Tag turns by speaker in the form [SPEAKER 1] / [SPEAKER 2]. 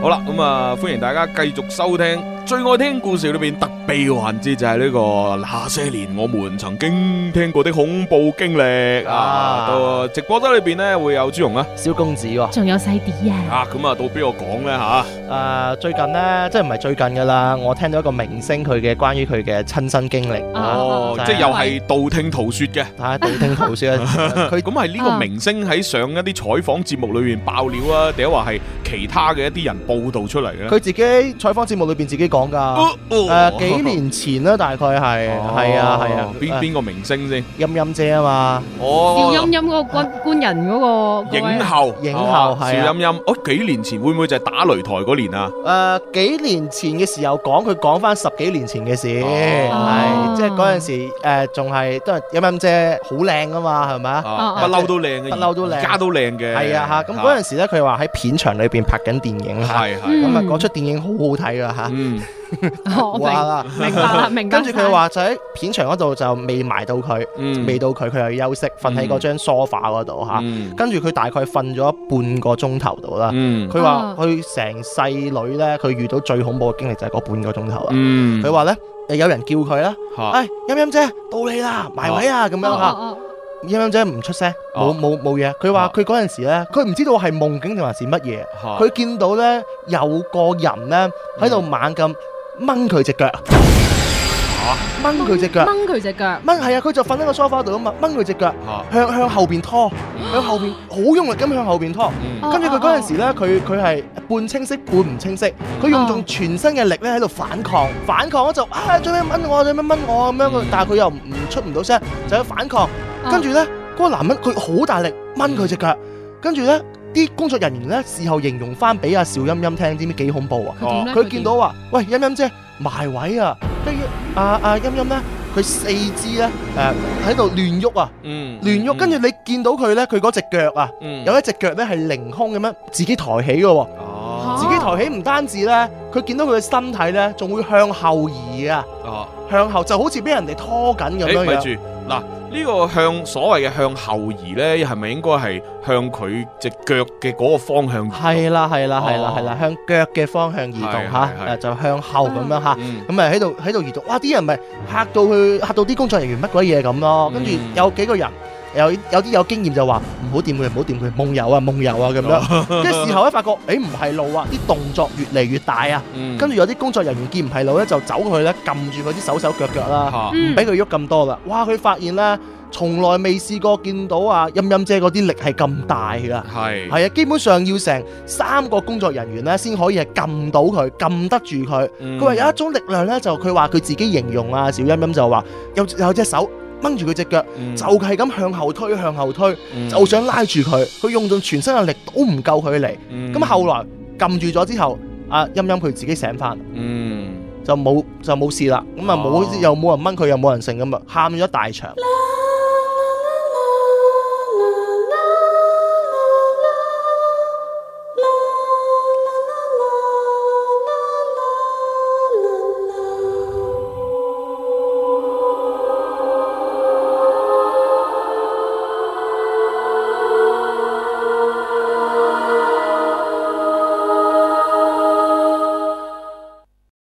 [SPEAKER 1] 好啦，咁啊，歡迎大家繼續收聽最愛聽故事裏邊特備環節，就係呢個那些年我們曾經聽過的恐怖經歷啊！到直播室裏邊呢，會有朱紅啦、
[SPEAKER 2] 小公子喎，
[SPEAKER 3] 仲有細啲啊！
[SPEAKER 1] 咁啊，到邊個講呢？吓？
[SPEAKER 2] 最近呢，即係唔係最近噶啦，我聽到一個明星佢嘅關於佢嘅親身經歷。
[SPEAKER 1] 即係又係道聽途說嘅。
[SPEAKER 2] 道聽途說
[SPEAKER 1] 佢咁係呢個明星喺上一啲採訪節目裏面爆料啊，定係話係其他嘅一啲人報道出嚟嘅？
[SPEAKER 2] 佢自己採訪節目裏邊自己講噶。幾年前啦，大概係啊。
[SPEAKER 1] 邊個明星先？
[SPEAKER 2] 陰陰姐啊嘛。
[SPEAKER 3] 邵陰陰嗰個官人嗰個
[SPEAKER 1] 影后
[SPEAKER 2] 係
[SPEAKER 1] 邵陰陰。幾年前會唔會就係打擂台嗰年啊？
[SPEAKER 2] 幾年前嘅時候佢講翻10幾年前嘅事，係即係嗰陣時仲係都係陰陰姐好靚噶嘛，係咪啊？
[SPEAKER 1] 不嬲都靚嘅，
[SPEAKER 2] 不嬲都靚，
[SPEAKER 1] 而家都靚嘅。係
[SPEAKER 2] 啊嚇，咁嗰陣時咧，佢話喺片場裏邊拍緊電影嚇，咁啊嗰出電影好好睇噶嚇。
[SPEAKER 3] 明白啦，明白。
[SPEAKER 2] 跟住佢話就喺片場嗰度就未埋到佢，未到佢又要休息，瞓喺嗰張梳化嗰度嚇。跟住佢大概瞓咗半個鐘頭度啦。佢話佢成世女咧，佢遇到最恐怖嘅經歷就係嗰半個鐘頭啦。佢話咧，有人叫佢啦，陰陰姐到你啦，埋位啊咁樣嚇。陰陰姐唔出聲，冇嘢。佢話佢嗰陣時咧，佢唔知道係夢境定還是乜嘢。佢見到咧有個人咧喺度猛咁掹佢隻腳，掹佢隻腳，係啊！佢就瞓喺個梳化度啊嘛，掹佢隻腳，向後邊拖，向後邊好用力咁向後邊拖。跟住佢嗰陣時咧，佢係半清晰半唔清晰，佢用盡全身嘅力咧喺度反抗咗就做咩掹我咁樣，但係佢又出唔到聲，就喺反抗。跟住咧，嗰個男人佢好大力掹佢隻腳，跟住咧啲工作人員咧事後形容翻俾阿邵陰陰聽，知唔知幾恐怖啊？佢見到話，喂，陰陰姐埋位啊！跟住阿陰陰咧，佢四肢咧喺度亂喐啊，亂喐。跟住你見到佢咧，佢嗰隻腳啊，有一隻腳咧係凌空咁樣自己抬起嘅喎。自己抬起唔單止咧，佢見到佢嘅身體咧，仲會向後移啊，向後就好似俾人哋拖緊咁樣。
[SPEAKER 1] 咪住嗱，呢個所謂嘅向後移咧，係咪應該係向佢隻腳嘅嗰個方向移動？係啦，向腳嘅方向移動嚇，就向後咁樣嚇，咁咪喺度移動。哇！啲人咪嚇到啲工作人員乜鬼嘢咁咯。跟住有幾個人。有啲有經驗就話唔好掂佢，夢遊啊咁樣。跟住事後咧發覺，唔係路啊，啲動作越嚟越大啊。跟住有啲工作人員見唔係路咧，就走過去咧，撳住佢啲手腳啦，唔俾佢喐咁多啦。哇！佢發現咧，從來未試過見到啊陰陰姐嗰啲力係咁大噶。係啊，基本上要成3個工作人員咧先可以係撳到佢，撳得住佢。佢話有一種力量咧，就佢話佢自己形容啊，小陰陰就話有隻手掹住佢隻腳，就係咁向後推，就想拉住佢。佢用盡全身嘅力都唔夠佢嚟。咁後來撳住咗之後，阿陰陰佢自己醒翻，就冇事啦。咁啊又冇人掹佢，又冇人剩咁啊，喊咗一大場。